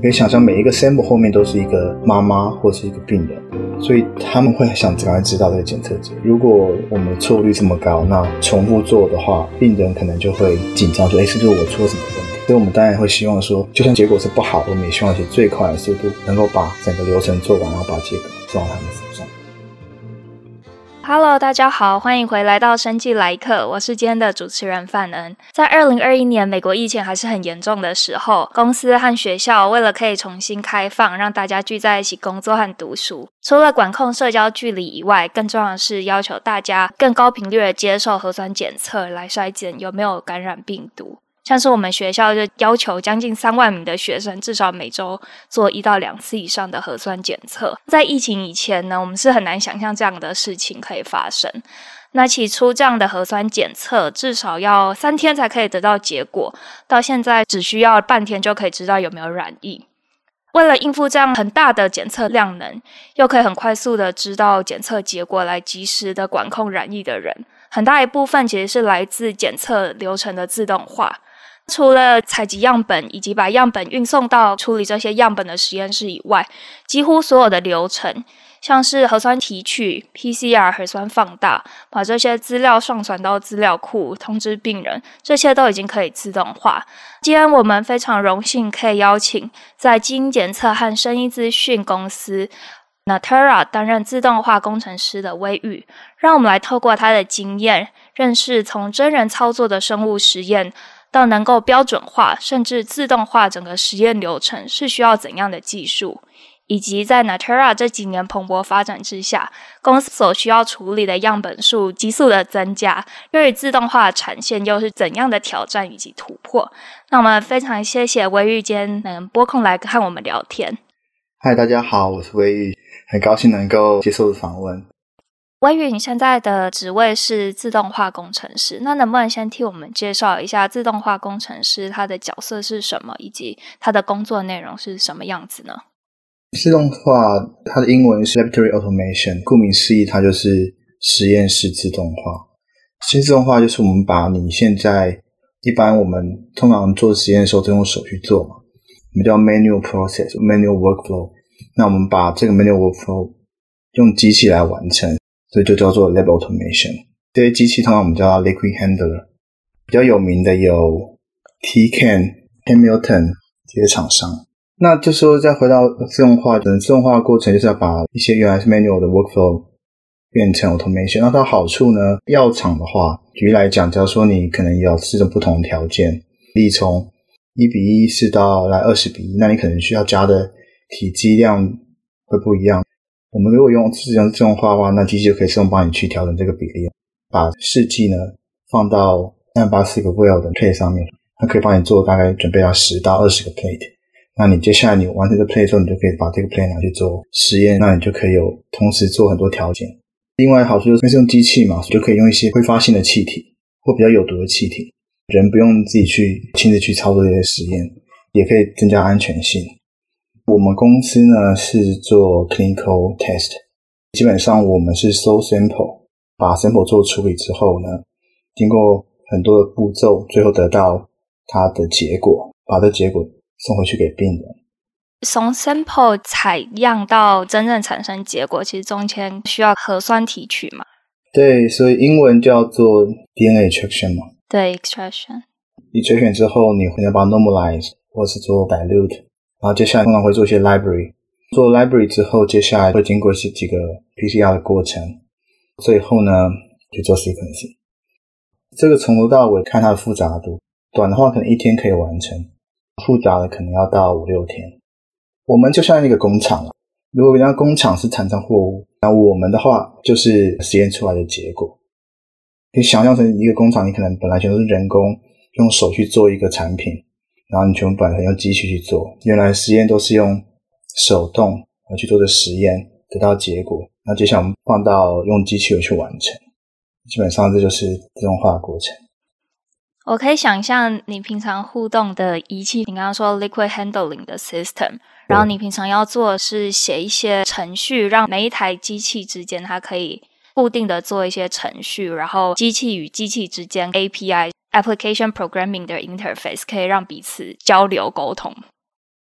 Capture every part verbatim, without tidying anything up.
你可以想象每一个 sample 后面都是一个妈妈或是一个病人，所以他们会想赶快知道这个检测结果。如果我们错误率这么高，那重复做的话，病人可能就会紧张说，诶，是不是我出了什么问题？所以我们当然会希望说，就算结果是不好，我们也希望以最快的速度能够把整个流程做完，然后把结果送到他们手上。 Hello， 大家好，欢迎回来到生技来客，我是今天的主持人范恩。在二零二一年美国疫情还是很严重的时候，公司和学校为了可以重新开放，让大家聚在一起工作和读书，除了管控社交距离以外，更重要的是要求大家更高频率的接受核酸检测来筛检有没有感染病毒。像是我们学校就要求将近三万名的学生至少每周做一到两次以上的核酸检测。在疫情以前呢，我们是很难想象这样的事情可以发生。那起初这样的核酸检测至少要三天才可以得到结果，到现在只需要半天就可以知道有没有染疫。为了应付这样很大的检测量能，又可以很快速的知道检测结果来及时的管控染疫的人，很大一部分其实是来自检测流程的自动化。除了采集样本以及把样本运送到处理这些样本的实验室以外，几乎所有的流程，像是核酸提取、P C R 核酸放大，把这些资料上传到资料库，通知病人，这些都已经可以自动化。今天我们非常荣幸可以邀请在基因检测和生医资讯公司 Natera 担任自动化工程师的威玉，让我们来透过他的经验，认识从真人操作的生物实验到能够标准化甚至自动化整个实验流程是需要怎样的技术，以及在 Natera 这几年蓬勃发展之下，公司所需要处理的样本数急速的增加，对于自动化的产线又是怎样的挑战以及突破。那我们非常谢谢威玉今天能拨空来和我们聊天。 嗨，大家好，我是威玉，很高兴能够接受访问。 威玉，你现在的职位是自动化工程师，那能不能先替我们介绍一下自动化工程师他的角色是什么，以及他的工作内容是什么样子呢？ 自动化它的英文是 Laboratory Automation， 顾名思义它就是实验室自动化。实验自动化就是我们把你现在一般我们通常做实验的时候都用手去做嘛，我们叫 manual process manual workflow， 那我们把这个 manual workflow 用机器来完成，所以就叫做 Lab Automation。 这些机器通常我们叫 Liquid Handler， 比较有名的有 Tecan、Hamilton 这些厂商。那就说再回到自动化，自动化的过程就是要把一些原来是 manual 的 workflow 变成 automation。 那它的好处呢，药厂的话举例来讲，假如说你可能有四种不同的条件，例如从一比一是到来二十比一，那你可能需要加的体积量会不一样。我们如果用自动自动化的话，那机器就可以自动帮你去调整这个比例，把试剂呢放到三百八十个 well 的 plate 上面，它可以帮你做大概准备到十到二十个 plate。 那你接下来你完成这个 plate 之后，你就可以把这个 plate 拿去做实验，那你就可以有同时做很多条件。另外好处就是用机器嘛，就可以用一些挥发性的气体或比较有毒的气体，人不用自己去亲自去操作这些实验，也可以增加安全性。我们公司呢是做 clinical test， 基本上我们是收 sample， 把 sample 做处理之后呢，经过很多的步骤，最后得到它的结果，把这结果送回去给病人。 从 sample 采样到真正产生结果，其实中间需要核酸提取嘛？ 对，所以英文叫做 D N A extraction 嘛。 对， extraction。 extraction 之后你会把它 normalize 或是做 dilute， 然后接下来通常会做一些 library， 做 library 之后接下来会经过几个 P C R 的过程，最后呢就做 sequencing。 这个从头到尾看它的复杂度，短的话可能一天可以完成，复杂的可能要到五六天。我们就像一个工厂，如果人家工厂是产生货物，那我们的话就是实验出来的结果。可以想象成一个工厂，你可能本来全都是人工用手去做一个产品，然后你全部本来用机器去做，原来实验都是用手动去做的实验得到结果，那接下来我们放到用机器去完成，基本上这就是自动化的过程。 我可以想象你平常互动的仪器，你刚刚说 liquid handling 的 system， 然后你平常要做的是写一些程序，让每一台机器之间它可以固定的做一些程序，然后机器与机器之间 A P I Application Programming 的 interface 可以让彼此交流沟通，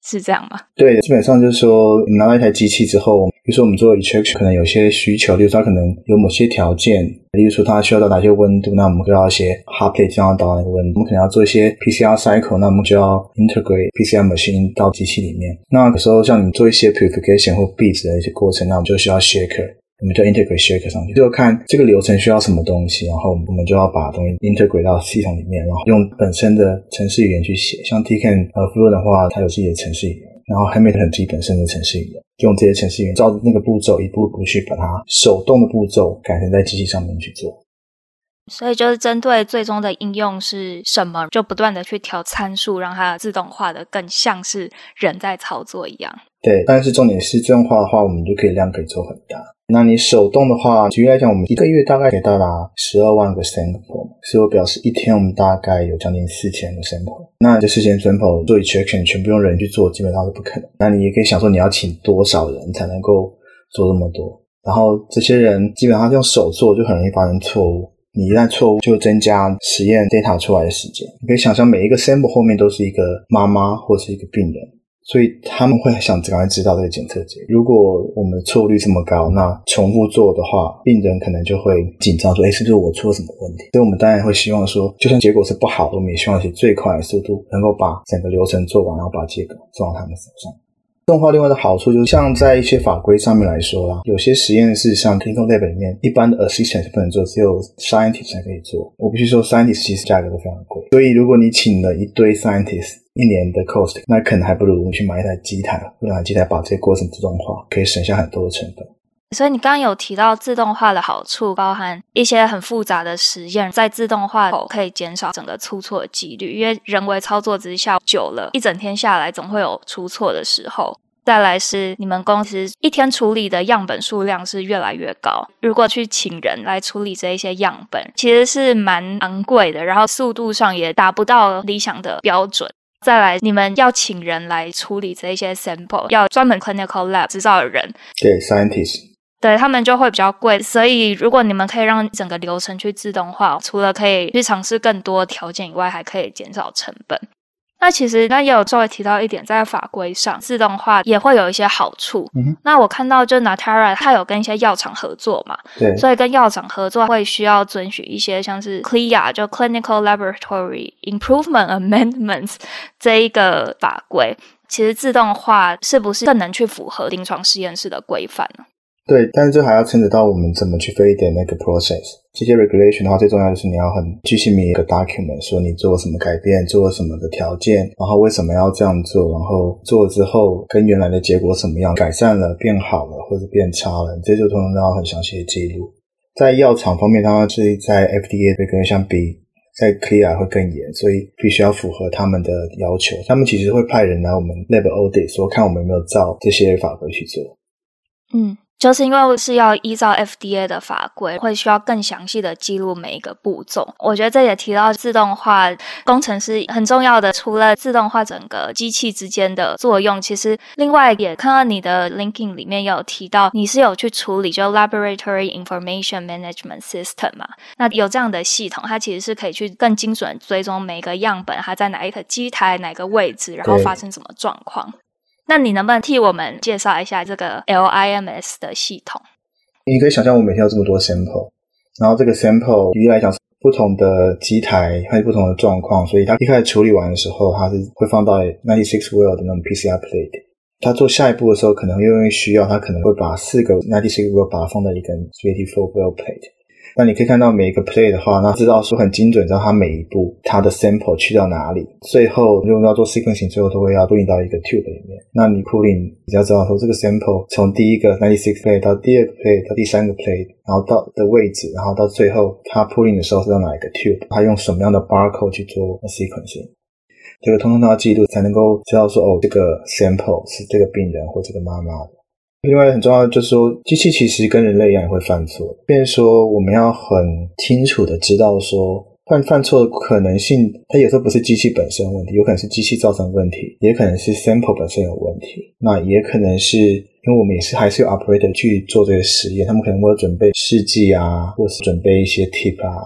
是这样吗？ 对，基本上就是说我们拿到一台机器之后，比如说我们做 extraction 可能有些需求，例如说它可能有某些条件，例如说它需要到哪些温度，那我们就要一些 hot plate 降到那个温度，我们可能要做一些 P C R cycle， 那我们就要 integrate P C R machine 到机器里面。那有时候像你做一些 purification 或 beads 的一些过程，那我们就需要 shaker，我们就 integrate shaker 上去，就看这个流程需要什么东西，然后我们就要把东西 integrate 到系统里面，然后用本身的程式语言去写。像 Tecan 呃 Fluent 的话，它有自己的程式语言，然后 Hamilton 自己本身的程式语言，用这些程式语言照着那个步骤一步步去把它手动的步骤改成在机器上面去做。 所以就是针对最终的应用是什么，就不断的去调参数，让它自动化的更像是人在操作一样。 对，但是重点是自动化的话，我们就可以量可以做很大。那你手动的话，举例来讲，我们一个月大概可以到达十二万个 sample， 所以我表示一天我们大概有将近四千个 sample。那这四千 sample 做 extraction 全部用人去做，基本上是不可能。那你也可以想说，你要请多少人才能够做这么多？然后这些人基本上用手做，就很容易发生错误。你一旦错误，就增加实验 data 出来的时间。你可以想象，每一个 sample 后面都是一个妈妈或是一个病人。所以他们会想赶快知道这个检测结果。如果我们的错误率这么高，那重复做的话，病人可能就会紧张说，诶，是不是我出了什么问题？所以我们当然会希望说，就算结果是不好的，我们也希望是最快的速度能够把整个流程做完，然后把结果送到他们手上。自动化另外的好处就是，像在一些法规上面来说啦，有些实验室像 clinical lab 里面，一般的 assistant 是不能做，只有 scientist 才可以做。我必须说 scientist 其实价格都非常贵，所以如果你请了一堆 scientist， 一年的 cost， 那可能还不如你去买一台机台，用台机台把这些过程自动化，可以省下很多的成本。 所以你刚刚有提到自动化的好处，包含一些很复杂的实验在自动化后可以减少整个出错的几率，因为人为操作之下久了，一整天下来总会有出错的时候。再来是你们公司一天处理的样本数量是越来越高，如果去请人来处理这一些样本，其实是蛮昂贵的，然后速度上也达不到理想的标准。再来你们要请人来处理这一些 sample， 要专门 clinical lab 执照的人， 对 scientist， 对他们就会比较贵。所以如果你们可以让整个流程去自动化，除了可以去尝试更多条件以外，还可以减少成本。那其实那也有稍微提到一点，在法规上自动化也会有一些好处。嗯、那我看到就 Natera 它有跟一些药厂合作嘛， 对， 所以跟药厂合作会需要遵循一些像是 C L I A 就 Clinical Laboratory Improvement Amendments 这一个法规。其实自动化是不是更能去符合临床实验室的规范呢？ 对，但是这还要牵扯到我们怎么去飞点那个 process。这些 regulation 的话，最重要就是你要很具细密一个 document， 说你做了什么改变，做了什么的条件，然后为什么要这样做，然后做了之后跟原来的结果什么样，改善了、变好了或者变差了，这就通常都要很详细的记录。在药厂方面，它是在 F D A 的跟相比，在 C L I A 会更严，所以必须要符合他们的要求。他们其实会派人来我们 lab audit， 说看我们有没有照这些法规去做。 嗯。就是因为是要依照 F D A 的法规，会需要更详细的记录每一个步骤。我觉得这也提到自动化工程师很重要的，除了自动化整个机器之间的作用，其实另外也看到你的 LinkedIn 里面也有提到，你是有去处理就 Laboratory Information Management System 嘛？那有这样的系统，它其实是可以去更精准追踪每个样本它在哪一个机台、哪个位置，然后发生什么状况。那你能不能替我们介绍一下这个 L I M S 的系统？ 你可以想象我每天有这么多 sample， 然后这个 sample 举例来讲不同的机台还有不同的状况，所以它一开始处理完的时候，它是会放到九十六 well 的那种 P C R plate。它做下一步的时候，可能因为需要，它可能会把四个九十六 well 把它放在一个八十四 well plate。那你可以看到每一个 play 的话，那知道说很精准，知道它每一步它的 sample 去到哪里，最后如果要做 sequencing， 最后都会要 pulling 到一个 tube 里面。那你 pulling 你要知道说这个 sample 从第一个九十六 play 到第二个 play 到第三个 play， 然后到的位置，然后到最后它 pulling 的时候是到哪一个 tube， 它用什么样的 barcode 去做 sequencing， 这个通通都要记录，才能够知道说哦，这个 sample 是这个病人或这个妈妈的。另外很重要的就是说，机器其实跟人类一样也会犯错，变成说我们要很清楚的知道说犯犯错的可能性，它有时候不是机器本身的问题，有可能是机器造成的问题，也可能是 sample 本身有问题，那也可能是因为我们也是还是有 operator 去做这个实验，他们可能会准备试剂啊，或是准备一些 tip 啊，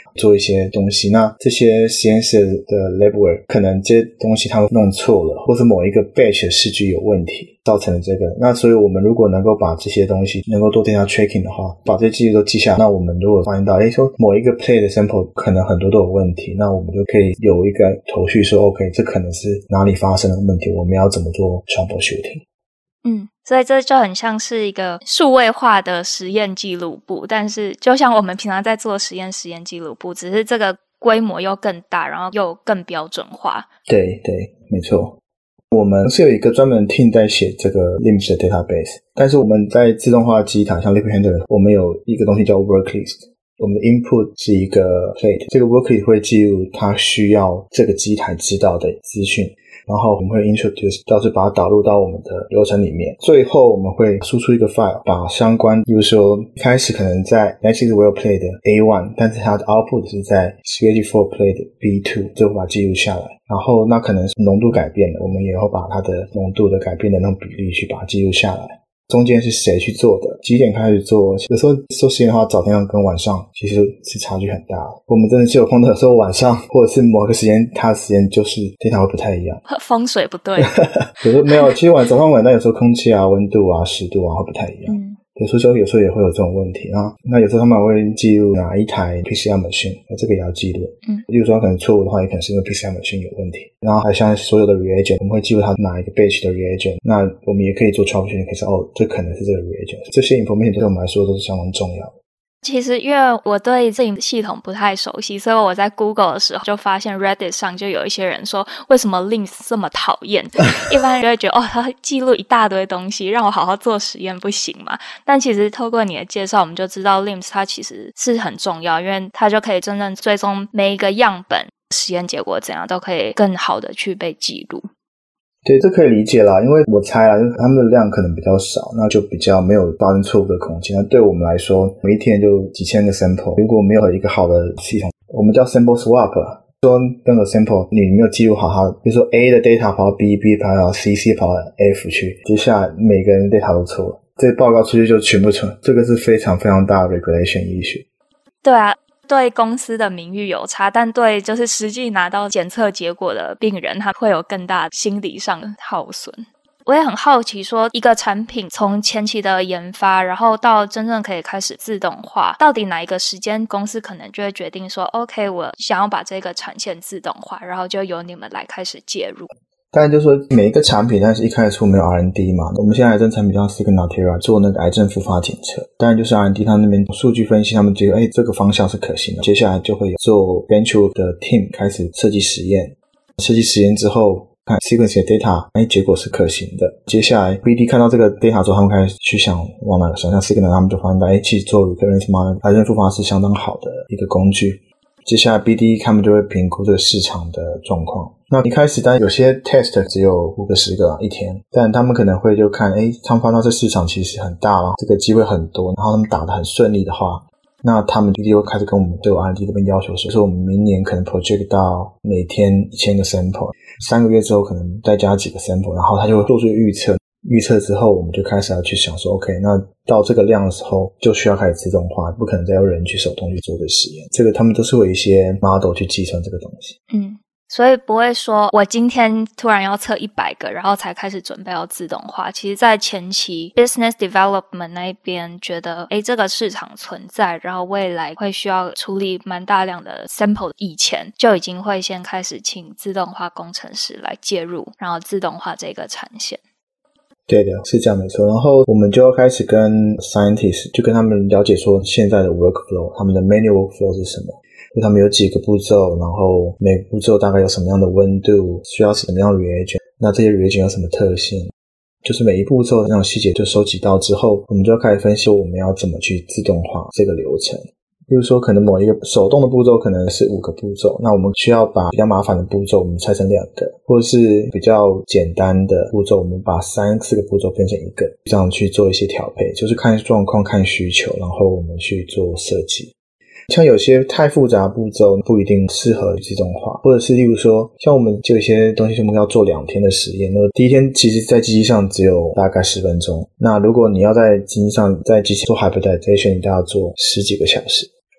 做一些东西。那这些实验室的 labware 可能这些东西他们弄错了，或是某一个 batch 的试句有问题造成了这个。那所以我们如果能够把这些东西能够做 data tracking 的话，把这些记录都记下来，那我们如果发现到诶说某一个 play 的 sample 可能很多都有问题，那我们就可以有一个头绪说 OK 这可能是哪里发生的问题，我们要怎么做 troubleshooting。 嗯，所以这就很像是一个数位化的实验记录簿，但是就像我们平常在做实验实验记录簿，只是这个规模又更大，然后又更标准化。 对对，没错。我们是有一个专门 team 在写这个 L I M S 的 database， 但是我们在自动化机台像 Liquid Handler 我们有一个东西叫 work list， 我们的 input 是一个 plate， 这个 work list 会记录它需要这个机台知道的资讯，然后我们会 introduce 到是把它导入到我们的流程里面，最后我们会输出一个 file， 把相关比如说开始可能在 Next is well play 的 A 一 但是它的 output 是在 Schedule for play 的 B 二， 最后把它记录下来，然后那可能是浓度改变了，我们也会把它的浓度的改变的那种比例去把它记录下来，中间是谁去做的，几点开始做，有时候做实验的话早天跟晚上其实是差距很大的，我们真的是有空的有时候晚上或者是某个时间它的时间就是 data 会不太一样， 风水不对有时候没有，其实晚早上晚但有时候空气啊温度啊湿度啊会不太一样、嗯有时候有时候也会有这种问题啊。那有时候他们会记录哪一台 P C R machine， 这个也要记录。嗯，例如说可能错误的话，也可能是因为 P C R machine 有问题。然后还像所有的 reagent， 我们会记录它哪一个 batch 的 reagent。那我们也可以做 troubleshooting， 可以说哦，这可能是这个 reagent。这些 information 对我们来说都是相当重要的。 其实因为我对这个系统不太熟悉，所以我在 Google 的时候就发现 Reddit 上就有一些人说为什么 L I M S 这么讨厌一般人就会觉得哦，他记录一大堆东西让我好好做实验不行嘛，但其实透过你的介绍我们就知道 L I M S 它其实是很重要，因为它就可以真正追踪每一个样本实验结果怎样都可以更好的去被记录。 对，这可以理解啦，因为我猜啦，他们的量可能比较少，那就比较没有发生错误的空间。那对我们来说，每一天就几千个 sample， 如果没有一个好的系统，我们叫 sample swap， 说任何 sample 你没有记录好它，比如说 A 的 data 跑到 B，B 跑到 C，C 跑到 F 去，接下来每个人的 data 都错了，这个报告出去就全部错，这个是非常非常大的 regulation issue。 对啊，对公司的名誉有差，但对就是实际拿到检测结果的病人他会有更大心理上的耗损。我也很好奇说一个产品从前期的研发然后到真正可以开始自动化，到底哪一个时间公司可能就会决定说 OK 我想要把这个产线自动化，然后就由你们来开始介入。 当然就是说每一个产品但是一开始没有 R and D 嘛，我们现在癌症产品叫 Signatera 做那个癌症复发检测，当然就是 R and D 他那边数据分析，他们觉得诶这个方向是可行的，接下来就会有做 bench 的 team 开始设计实验，设计实验之后看 sequence 的 data 诶结果是可行的，接下来 B D 看到这个 data 之后他们开始去想往哪个方向，像 Signatera 他们就发现到诶其实做 recurrence model 癌症复发是相当好的一个工具，接下来 B D 他们就会评估这个市场的状况。那一开始当然有些 test 只有五个十个一天，但他们可能会就看诶他们发现这市场其实很大了，这个机会很多，然后他们打得很顺利的话，那他们 B D 会开始跟我们对 R and D 这边要求说我们明年可能 project 到每天一千个 sample， 三个月之后可能再加几个 sample， 然后他就会做出预测，预测之后我们就开始要去想说 OK 那到这个量的时候就需要开始自动化，不可能再用人去手动去做这个实验，这个他们都是会有一些 model 去计算这个东西。 嗯，所以不会说我今天突然要测一百个然后才开始准备要自动化，其实在前期 business development 那一边觉得诶这个市场存在，然后未来会需要处理蛮大量的 sample， 以前就已经会先开始请自动化工程师来介入，然后自动化这个产线。 对的，是这样没错。然后我们就要开始跟 scientists 就跟他们了解说现在的 workflow， 他们的 manual workflow 是什么，就他们有几个步骤，然后每个步骤大概有什么样的温度，需要什么样的 reagent， 那这些 reagent 有什么特性，就是每一步骤那种细节就收集到之后，我们就要开始分析我们要怎么去自动化这个流程。比如说可能某一个手动的步骤可能是五个步骤，那我们需要把比较麻烦的步骤我们拆成两个，或者是比较简单的步骤我们把三四个步骤变成一个，这样去做一些调配，就是看状况看需求，然后我们去做设计。像有些太复杂的步骤不一定适合自动化，或者是例如说像我们就有一些东西我们要做两天的实验，那第一天其实在机器上只有大概十分钟，那如果你要在机器上在机器做 hybridization 你都要做十几个小时，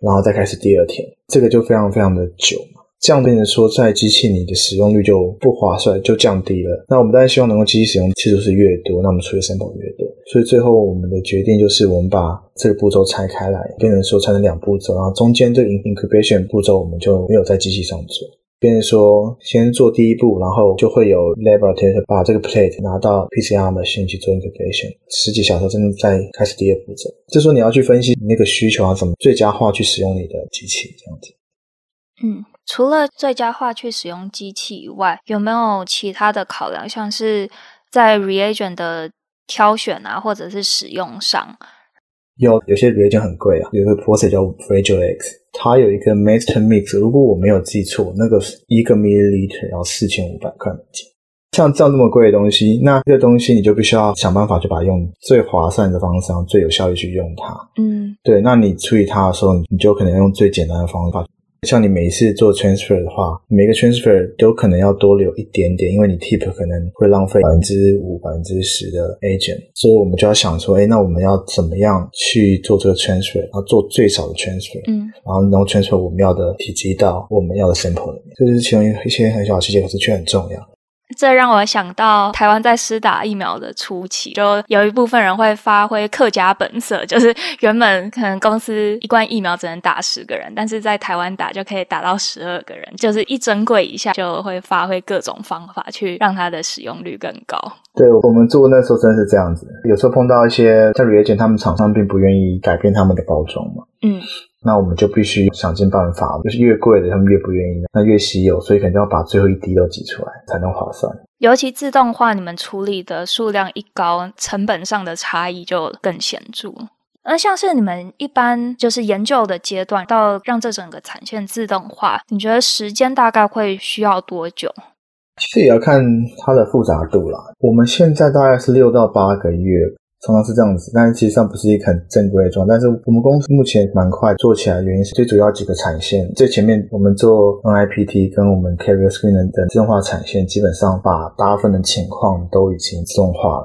然后再开始第二天，这个就非常非常的久嘛。这样变成说在机器你的使用率就不划算，就降低了。那我们当然希望能够机器使用次数是越多，那我们出的 sample 越多。所以最后我们的决定就是我们把这个步骤拆开来，变成说拆成两步骤，然后中间这个 incubation 步骤我们就没有在机器上做，变成说先做第一步，然后就会有 laboratory 把这个 plate 拿到 P C R machine 去做 incubation， 十几小时真的再开始第二步骤。这时候你要去分析你那个需求要怎么最佳化去使用你的机器这样子。 嗯，除了最佳化去使用机器以外，有没有其他的考量，像是在 reagent 的挑选啊，或者是使用上？ 有有些 reagent 很贵啊，有一个 process 叫 Fragilex， 它有一个 master mix， 如果我没有记错，那个一个 milliliter 要四千五百块美金。像这样这么贵的东西，那这个东西你就必须要想办法去把它用最划算的方式，最有效率去用它。 嗯， 对，那你处理它的时候，你就可能用最简单的方法。像你每一次做 transfer 的话，每个 transfer 都可能要多留一点点，因为你 tip 可能会浪费 百分之五、百分之十 的 agent， 所以我们就要想说，诶，那我们要怎么样去做这个 transfer， 然后做最少的 transfer， 嗯， 然后能够 transfer 我们要的体积到我们要的 sample 里面，这就是其中一些很小的细节，可是却很重要。 这让我想到台湾在施打疫苗的初期，就有一部分人会发挥客家本色，就是原本可能公司一罐疫苗只能打十个人，但是在台湾打就可以打到十二个人，就是一针柜以下就会发挥各种方法去让它的使用率更高。 对，我们做那时候真的是这样子，有时候碰到一些像 reagent 他们厂商并不愿意改变他们的包装嘛， 嗯， 那我们就必须想尽办法，就是越贵的他们越不愿意，那越稀有，所以可能要把最后一滴都挤出来才能划算。 尤其自动化，你们处理的数量一高，成本上的差异就更显著。那像是你们一般就是研究的阶段到让这整个产线自动化，你觉得时间大概会需要多久？ 其实也要看它的复杂度啦。我们现在大概是六到八个月，常常是这样子，但是其实上不是一个很正规的状态。但是我们公司目前蛮快做起来的原因是最主要几个产线，最前面我们做 N I P T 跟我们 carrier screener 的自动化产线，基本上把大部分的情况都已经自动化了。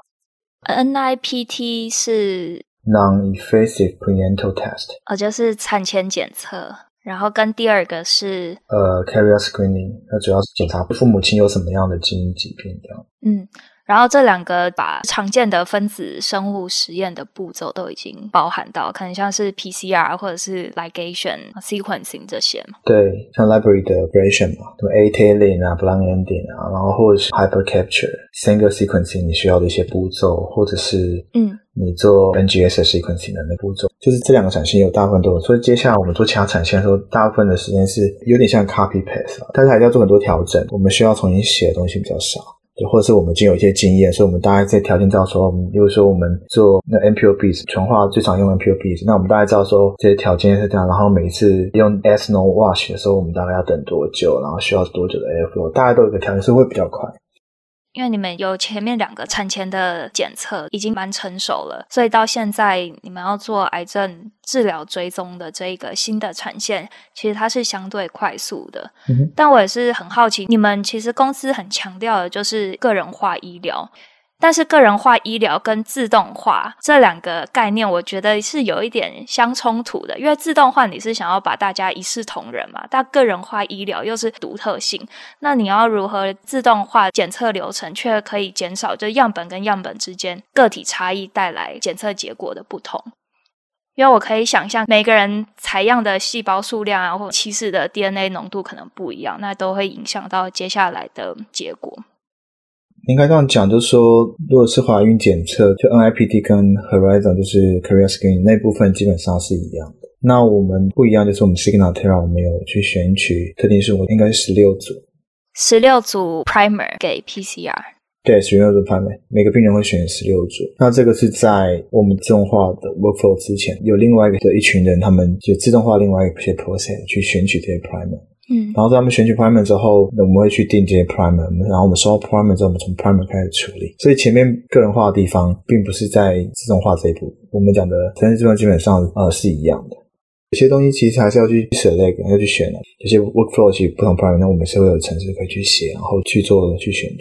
N I P T 是 Non-invasive prenatal test， 哦，就是产前检测。然后跟第二个是呃 carrier screening， 那主要是检查父母亲有什么样的基因疾病这样。 嗯，然后这两个把常见的分子生物实验的步骤都已经包含到，可能像是 P C R 或者是 ligation sequencing 这些嘛。 对，像 library 的 operation 嘛，什么 A-tailing 啊 blind ending 啊，然后或者是 hyper capture single sequencing 你需要的一些步骤，或者是嗯你做 N G S sequencing 的那步骤，就是这两个产线有大部分都有。所以接下来我们做其他产线的时候，大部分的时间是有点像 copy paste， 但是还是要做很多调整，我们需要重新写的东西比较少。对，或者是我们已经有一些经验，所以我们大概在条件照的时候，比如说我们做那 M P O Bs 纯化最常用 M P O Bs， 那我们大概知道说这些条件是这样，然后每一次用 S-No wash 的时候，我们大概要等多久，然后需要多久的 airflow， 大概都有一个条件是会比较快。 因为你们有前面两个产前的检测已经蛮成熟了，所以到现在你们要做癌症治疗追踪的这一个新的产线，其实它是相对快速的。嗯，但我也是很好奇，你们其实公司很强调的就是个人化医疗，但是个人化医疗跟自动化这两个概念我觉得是有一点相冲突的，因为自动化你是想要把大家一视同仁嘛，但个人化医疗又是独特性，那你要如何自动化检测流程却可以减少就样本跟样本之间个体差异带来检测结果的不同。因为我可以想象每个人采样的细胞数量啊，或起始的 D N A 浓度可能不一样，那都会影响到接下来的结果。 应该这样讲，就是说如果是怀孕检测，就 N I P T 跟 Horizon 就是 carrier screening 那部分基本上是一样的。那我们不一样就是我们 Signatera 我们有去选取特定数，应该是十六组十六组 primer 给 P C R。 对，十六组 primer， 每个病人会选十六组。那这个是在我们自动化的 workflow 之前，有另外一个的一群人，他们就自动化另外一些 process 去选取这些 primer。嗯，然后在他们选取 primer 之后，我们会去定这些 primer， 然后我们收到 primer 之后，我们从 primer 开始处理。所以前面个人化的地方并不是在自动化这一步，我们讲的程式计算基本上呃是一样的。有些东西其实还是要去 select， 要去选的。有些 workflow 其实不同 primer， 那我们是会有程式可以去写，然后去做去选取。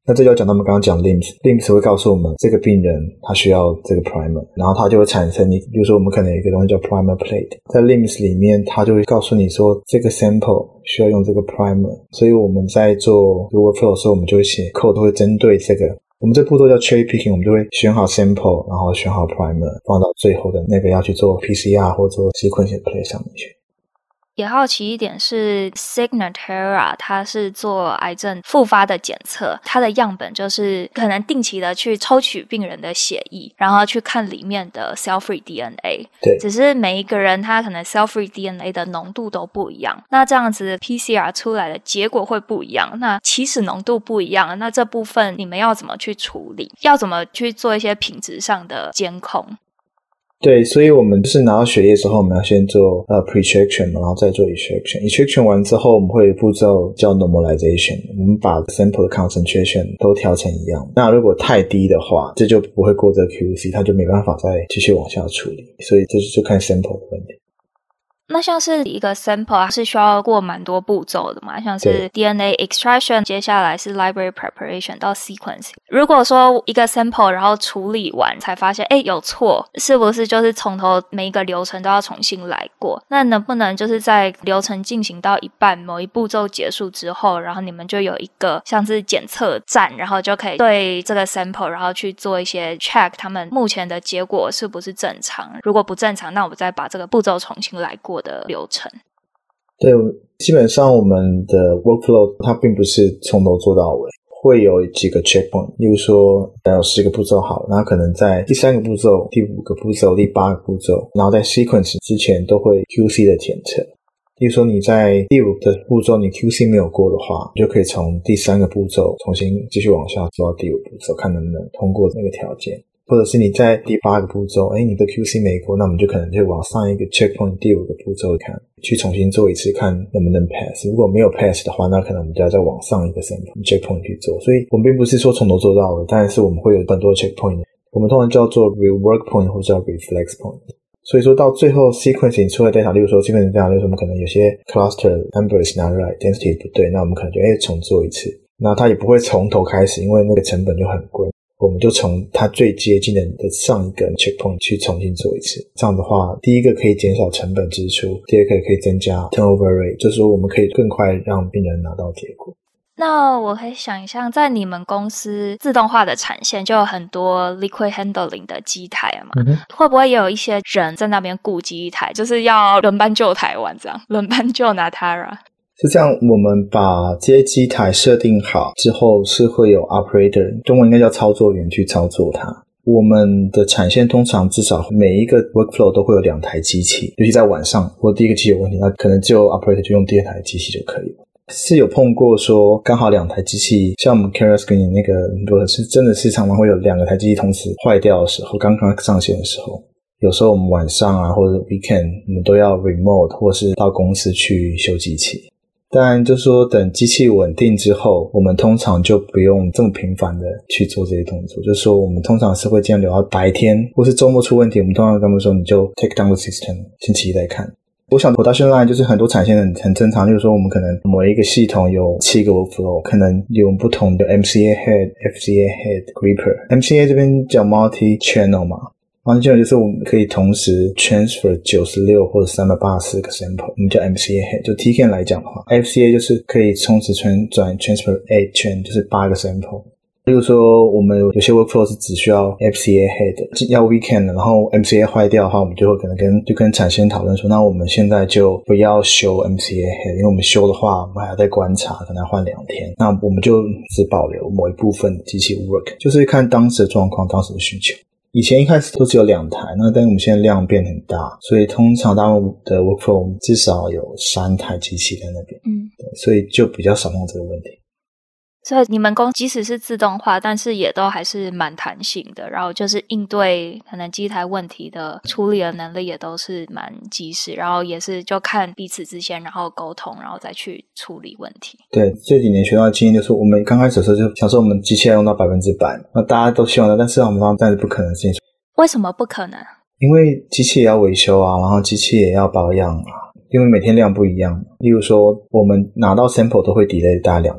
那这就要讲他们刚刚讲 L I M S L I M S 会告诉我们这个病人他需要这个 primer， 然后他就会产生你比如说我们可能有一个东西叫 primer plate， 在 L I M S 里面他就会告诉你说这个 sample 需要用这个 primer， 所以我们在做 workflow 的时候我们就会写 code 都会针对这个，我们这步骤叫 cherry picking， 我们就会选好 sample 然后选好 primer 放到最后的那个要去做 P C R 或做 sequence plate 上面去。 也好奇一点是 Signatera 它是做癌症复发的检测，它的样本就是可能定期的去抽取病人的血液，然后去看里面的 cell-free D N A， 对， 只是每一个人他可能 cell-free D N A 的浓度都不一样，那这样子 P C R 出来的结果会不一样，那起始浓度不一样，那这部分你们要怎么去处理，要怎么去做一些品质上的监控？ 对，所以我们就是拿到血液之后，我们要先做呃 pre-extraction， 然后再做 extraction。extraction 完之后，我们会有步骤叫 normalization， 我们把 sample 的 concentration 都调成一样。那如果太低的话，这就不会过这个 Q C， 它就没办法再继续往下处理。所以这就看 sample 的问题。 那像是一个 sample 是需要过蛮多步骤的嘛，像是 D N A extraction， 接下来是 library preparation 到 sequence。如果说一个 sample 然后处理完才发现诶有错，是不是就是从头每一个流程都要重新来过？那能不能就是在流程进行到一半，某一步骤结束之后，然后你们就有一个像是检测站，然后就可以对这个 sample 然后去做一些 check 他们目前的结果是不是正常，如果不正常，那我们再把这个步骤重新来过的流程。 对，基本上我们的 workflow 它并不是从头做到尾，会有几个 checkpoint， 例如说有十个步骤好，然后可能在第三个步骤、第五个步骤、第八个步骤，然后在 sequence 之前都会 Q C 的检测。例如说你在第五个步骤你 Q C 没有过的话，你就可以从第三个步骤重新继续往下做到第五步骤，看能不能通过那个条件。或者是你在第八个步骤，诶你的 Q C 没过，那我们就可能就往上一个 checkpoint 第五个步骤看，去重新做一次看能不能 pass。如果没有 pass 的话，那可能我们就要再往上一个 checkpoint 去做。所以我们并不是说从头做到尾，但是我们会有很多 checkpoint， 我们通常叫做 rework point 或者叫 reflex point。所以说到最后 sequencing 出来 data， 例如说 sequencing data， 例如说我们可能有些 cluster number is not right， density 不对，那我们可能就诶重做一次。那它也不会从头开始，因为那个成本就很贵。我们就从它最接近的上一个 checkpoint 去重新做一次，这样的话第一个可以减少成本支出，第二个可以增加 turnover rate， 就是说我们可以更快让病人拿到结果。 那我可以想象在你们公司自动化的产线就有很多 liquid handling 的机台嘛、嗯、会不会也有一些人在那边顾机台，就是要轮班救台湾这样，轮班救 Natera？ 是这样，我们把这些机台设定好之后，是会有 operator， 中文应该叫操作员去操作它。我们的产线通常至少每一个 workflow 都会有两台机器，尤其在晚上，如果第一个机器有问题，那可能就 operator 就用第二台机器就可以了。是有碰过说刚好两台机器，像我们 Keras 跟你那个，如果是真的是常常会有两个台机器同时坏掉的时候，刚刚上线的时候，有时候我们晚上啊或者 weekend 我们都要 remote 或是到公司去修机器。当然就是说等机器稳定之后，我们通常就不用这么频繁的去做这些动作，就是说我们通常是会尽量留到白天或是周末出问题，我们通常跟他们说你就 take down the system， 星期一再看。我想 production line 就是很多产线很很正常，就是说我们可能某一个系统有七个 workflow， 可能有不同的 M C A head、F C A head、gripper。M C A 这边叫 multi channel 嘛，multi channel 就是我们可以同时 transfer 九十六或者三百八十四个 sample， 我们叫 M C A head。就 T C A N 来讲的话 ，F C A 就是可以同时转转 transfer eight chain， 就是八个 sample。例如说我们有些 workflow 是只需要 F C A head， 要 weekend， 然后 M C A 坏掉的话，我们就会可能跟就跟产线讨论说，那我们现在就不要修 M C A head， 因为我们修的话，我们还要再观察，可能要换两天。那我们就只保留某一部分机器 work， 就是看当时的状况，当时的需求。以前一开始都只有两台，那但是我们现在量变很大，所以通常他们的 workflow 至少有三台机器在那边，嗯，对，所以就比较少碰这个问题。 所以你们公即使是自动化，但是也都还是蛮弹性的，然后就是应对可能机台问题的处理的能力也都是蛮及时，然后也是就看彼此之间然后沟通，然后再去处理问题。 对，这几年学到的经验就是我们刚开始的时候就想说我们机器要用到百分之百，那大家都希望的，但是我们发现但是不可能的事情。 为什么不可能？ 因为机器也要维修啊，然后机器也要保养啊，因为每天量不一样。例如说我们拿到 sample 都会 delay 大概两天，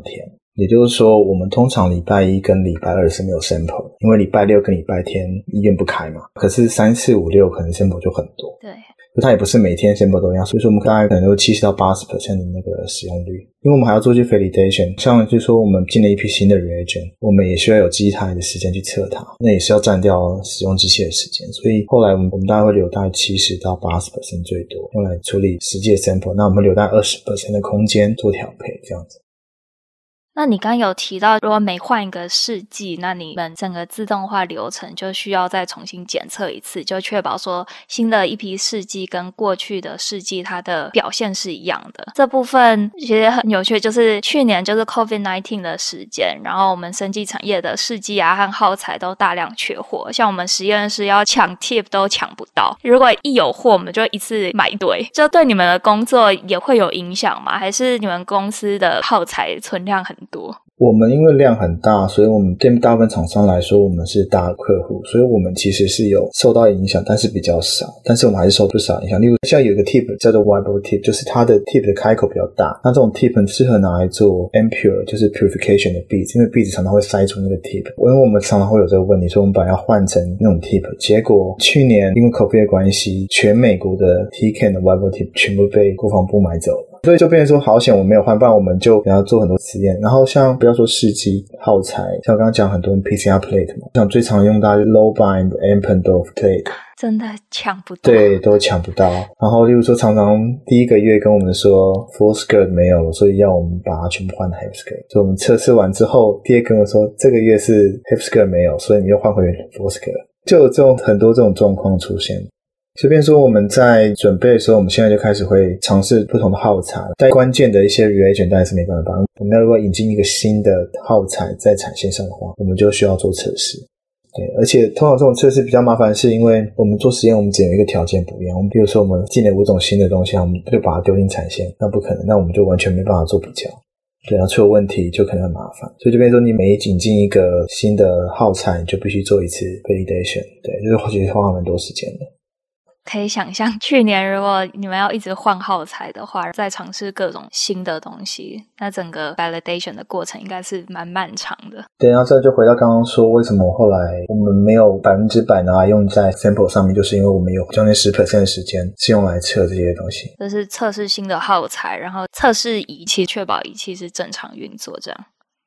也就是说我们通常礼拜一跟礼拜二是没有 sample， 因为礼拜六跟礼拜天医院不开嘛，可是三四五六可能 sample 就很多， 对， 就它也不是每天 sample 都一样，所以说我们大概可能有 百分之七十到八十 的那个使用率。因为我们还要做一些 validation， 像就是说我们进了一批新的 reagent， 我们也需要有机台的时间去测它，那也是要占掉使用机器的时间，所以后来我们我们大概会留大概七十到八十 最多用来处理实际的 sample， 那我们留大概 百分之二十 的空间做调配这样子。 那你刚刚有提到如果每换一个试剂，那你们整个自动化流程就需要再重新检测一次，就确保说新的一批试剂跟过去的试剂它的表现是一样的。这部分其实很有趣，就是去年就是 COVID 十九 的时间，然后我们生技产业的试剂啊和耗材都大量缺货，像我们实验室要抢 tip 都抢不到，如果一有货我们就一次买一堆，这对你们的工作也会有影响吗？还是你们公司的耗材存量很多？ 我们因为量很大，所以我们对大部分厂商来说我们是大客户，所以我们其实是有受到影响，但是比较少，但是我们还是受不少影响。例如像有一个 tip 叫做 Weibull tip， 就是它的 tip 的开口比较大，那这种 tip 很适合拿来做 impure 就是 purification 的 beads， 因为 beads 常常会塞住那个 tip， 因为我们常常会有这个问题，所以我们本来要换成那种 tip， 结果去年因为 COVID 的关系，全美国的 T C A N 的 Weibull tip 全部被国防部买走了，所以就变成说好险我没有换，不然我们就给他做很多实验。然后像不要说试剂耗材，像我刚刚讲很多 P C R plate 嘛，像最常用到的 low bind Eppendorf plate， 真的抢不到， 对，都抢不到。然后例如说常常第一个月跟我们说 full skirt 没有了，所以要我们把它全部换 half skirt， 所以我们测试完之后第二个跟我说这个月是 half skirt 没有，所以你又换回 full skirt， 就有这种很多这种状况出现。随便说我们在准备的时候，我们现在就开始会尝试不同的耗材，在关键的一些 reagent 当然是没办法，我们要如果引进一个新的耗材在产线上的话，我们就需要做测试。对，而且通常这种测试比较麻烦，是因为我们做实验我们只有一个条件不一样，我们比如说我们进了五种新的东西，我们就把它丢进产线，那不可能，那我们就完全没办法做比较，对啊，出了问题就可能很麻烦，所以就变成说你每引进一个新的耗材，你就必须做一次 validation， 对，就是其实花蛮多时间的。 可以想象去年如果你们要一直换耗材的话，再尝试各种新的东西，那整个 validation 的过程应该是蛮漫长的。 对，然后这就回到刚刚说为什么后来我们没有百分之百拿来用在 sample 上面，就是因为我们有将近 百分之十 的时间是用来测这些东西， 就是测试新的耗材，然后测试仪器，确保仪器是正常运作这样。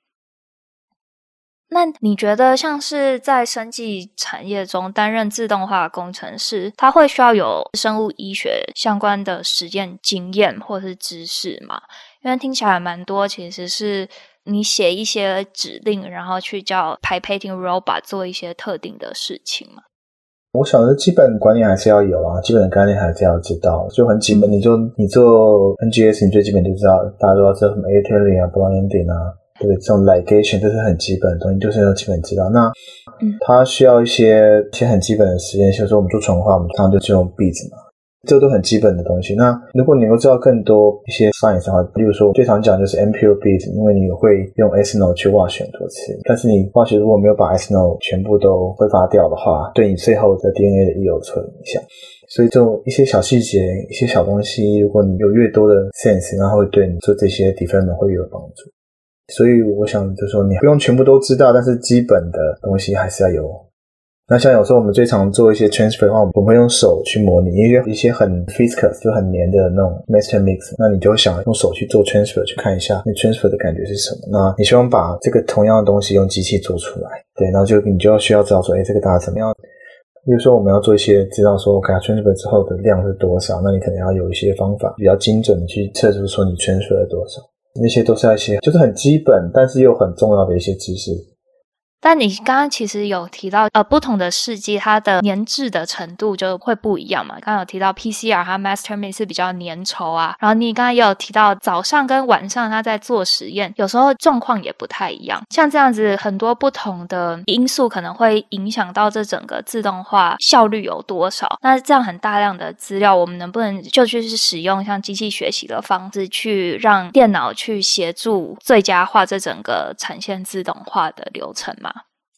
那你觉得像是在生技产业中担任自动化工程师，他会需要有生物医学相关的实验经验或是知识吗？因为听起来蛮多其实是你写一些指令，然后去叫 pipetting robot 做一些特定的事情嘛。 我想的基本观念还是要有啊，基本的概念还是要知道，就很基本，你就你做 N G S 你最基本就知道，大家都要知道什么 A T L 啊 blinding 啊，对，这种 ligation 这是很基本的东西，就是要基本知道。那它需要一些一些很基本的实验，就是说我们做纯化，我们常常就用 beads 嘛，这都很基本的东西。那如果你能够知道更多一些 science 的话，例如说最常讲就是 impure beads， 因为你会用 ethanol 去wash 很多次，但是你 wash 如果没有把 ethanol 全部都挥发掉的话，对你最后的 D N A 的 yield 会有影响。所以这种一些小细节一些小东西，如果你有越多的 sense， 然后会对你做这些 development 会有帮助。所以我想就是说你不用全部都知道，但是基本的东西还是要有。那像有时候我们最常做一些 transfer 的话，我们会用手去模拟，因为一些很 viscous 就很黏的那种 master mix， 那你就想用手去做 transfer 去看一下那 transfer 的感觉是什么，那你希望把这个同样的东西用机器做出来，对，然后就你就需要知道说诶这个大概怎么样。比如说我们要做一些知道说 OK transfer 之后的量是多少，那你可能要有一些方法比较精准的去测出说你 transfer 了多少，那些都是一些就是很基本但是又很重要的一些知识。 但你刚刚其实有提到呃，不同的试剂它的粘滞的程度就会不一样嘛，刚刚有提到 P C R 和 master mix 是比较粘稠啊，然后你刚刚也有提到早上跟晚上它在做实验有时候状况也不太一样，像这样子很多不同的因素可能会影响到这整个自动化效率有多少，那这样很大量的资料我们能不能就去使用像机器学习的方式去让电脑去协助最佳化这整个产线自动化的流程嘛？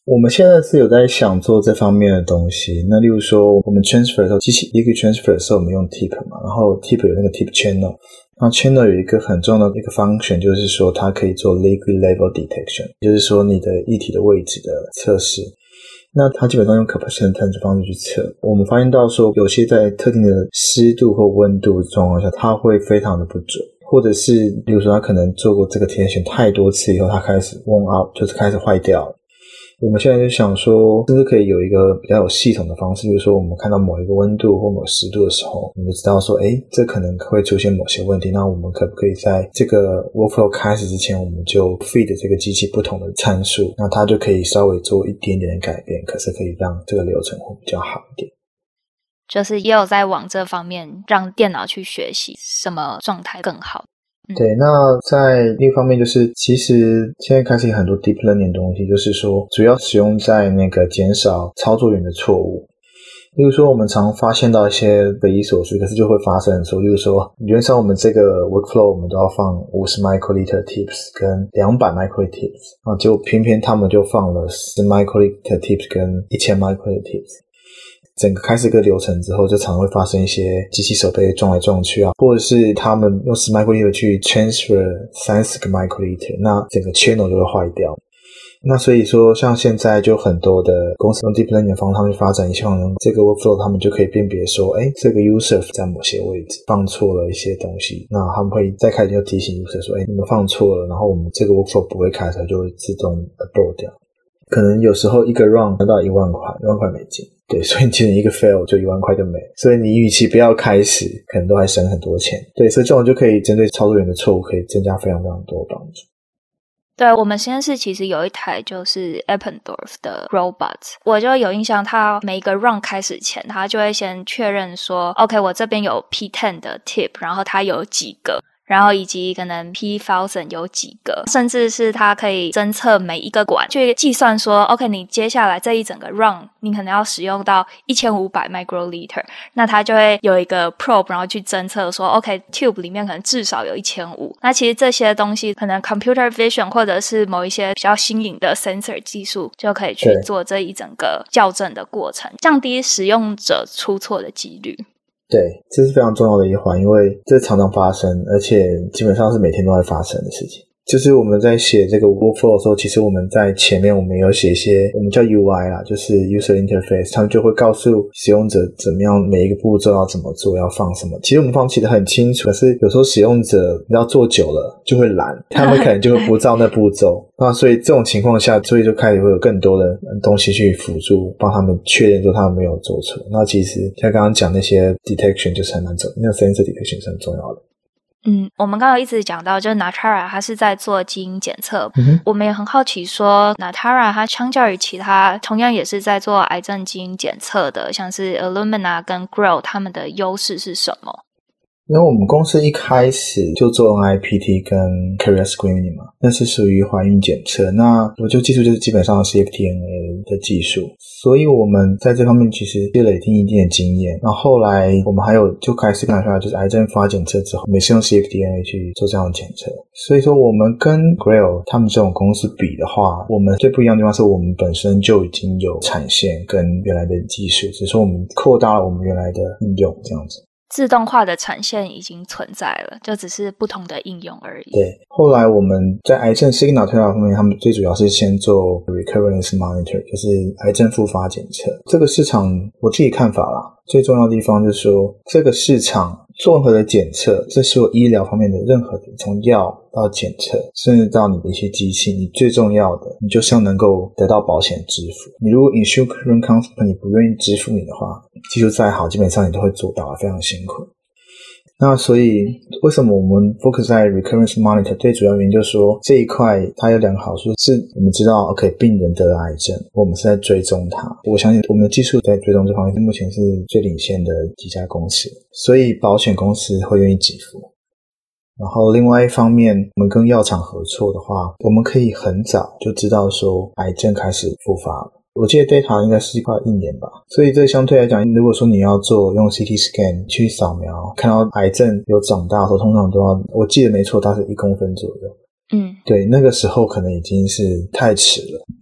我们现在是有在想做这方面的东西。那例如说我们 transfer 的时候，机器 liquid transfer 的时候我们用 tip 嘛，然后 tip 有那个 tip channel， 那 channel 有一个很重要的一个 function， 就是说它可以做 liquid level detection， 就是说你的液体的位置的测试。那它基本上用 capacitance 的方式去测，我们发现到说有些在特定的湿度或温度的状况下，它会非常的不准，或者是比如说它可能做过这个 detection 太多次以后，它开始 worn out， 就是开始坏掉了。我们现在就想说是不是可以有一个比较有系统的方式，比如说我们看到某一个温度或某个湿度的时候，我们就知道说诶这可能会出现某些问题，那我们可不可以在这个 workflow 开始之前，我们就 feed 这个机器不同的参数，那它就可以稍微做一点点的改变，可是可以让这个流程会比较好一点。 就是也有在往这方面让电脑去学习什么状态更好。 对，那在另一方面就是其实现在开始有很多 deep learning 的东西，就是说主要使用在那个减少操作员的错误。例如说我们常发现到一些匪夷所思，可是就会发生说，例如说原则上我们这个 workflow 我们都要放五十 microliter tips 跟两百 microliter tips， 啊，结果偏偏他们就放了十 microliter tips 跟一千 microliter tips。整个开始一个流程之后，就常会发生一些机器手被撞来撞去啊，或者是他们用十 microliter 去 transfer 三十个 microliter， 那整个 channel 就会坏掉。那所以说像现在就很多的公司用 deep learning 的方式，他们去发展一项这个 workflow， 他们就可以辨别说诶这个 user 在某些位置放错了一些东西，那他们会再开始就提醒 user 说诶你们放错了，然后我们这个 workflow 不会开始就会自动 abort 掉。可能有时候一个 run 得到一万块一万块美金，对，所以其实一个 fail 就一万块就没，所以你与其不要开始，可能都还省很多钱。对，所以这种就可以针对操作员的错误，可以增加非常非常多的帮助。 对，我们实验室其实有一台就是 Eppendorf 的 robot， 我就有印象，它每一个 run 开始前，它就会先确认说 OK 我这边有 P 十 的 tip， 然后它有几个，然后以及可能 P 一千 有几个，甚至是它可以侦测每一个管，去计算说 OK 你接下来这一整个 run 你可能要使用到一千五百 microliter， 那它就会有一个 probe 然后去侦测说 OK tube 里面可能至少有一千五百，那其实这些东西可能 computer vision 或者是某一些比较新颖的 sensor 技术就可以去做这一整个校正的过程，降低使用者出错的几率。 对，这是非常重要的一环，因为这常常发生，而且基本上是每天都会发生的事情。就是我们在写这个 workflow 的时候，其实我们在前面我们有写一些我们叫 U I 啦，就是 user interface， 他们就会告诉使用者怎么样每一个步骤要怎么做，要放什么。其实我们放弃的很清楚，可是有时候使用者要做久了就会懒，他们可能就会不照那步骤。那所以这种情况下，所以就开始会有更多的东西去辅助帮他们确认说他们没有做错。那其实像刚刚讲那些 detection 就是很蛮重要，那个 sensor detection 是很重要的。 嗯，我们刚刚一直讲到，就是 Natara 它是在做基因检测、 嗯、 我们也很好奇说 Natara 它相较于其他同样也是在做癌症基因检测的，像是 Illumina 跟 Grail 他们的优势是什么？ 因为我们公司一开始就做 N I P T 跟 Carrier Screening 嘛，那是属于怀孕检测，那我就技术就是基本上是 cDNA 的技术，所以我们在这方面其实积累一定一定的经验。然后后来我们还有就开始拿出来就是癌症发检测之后，每次用 cDNA 去做这样的检测，所以说我们跟 Grail 他们这种公司比的话，我们最不一样的地方是我们本身就已经有产线跟原来的技术，只是说我们扩大了我们原来的应用这样子。 自动化的产线已经存在了，就只是不同的应用而已。 对，后来我们在癌症 signal 推导方面，他们最主要是先做 recurrence monitor， 就是癌症复发检测。这个市场我自己看法啦，最重要的地方就是说，这个市场做任何的检测，这是有医疗方面的任何的，从药到检测，甚至到你的一些机器，你最重要的，你就是要能够得到保险支付。你如果 insurance company 不愿意支付你的话，技术再好，基本上你都会做到，非常辛苦。那所以为什么我们 focus 在 recurrence monitor， 最主要原因就是说这一块它有两个好处，是我们知道 OK 病人得了癌症，我们是在追踪它，我相信我们的技术在追踪这方面目前是最领先的几家公司，所以保险公司会愿意给付。然后另外一方面，我们跟药厂合作的话，我们可以很早就知道说癌症开始复发了，我记得 data 应该是快一年吧，所以这相对来讲，如果说你要做用 C T scan 去扫描，看到癌症有长大的时候，通常都要，我记得没错，它是一公分左右。 嗯， 对，那个时候可能已经是太迟了，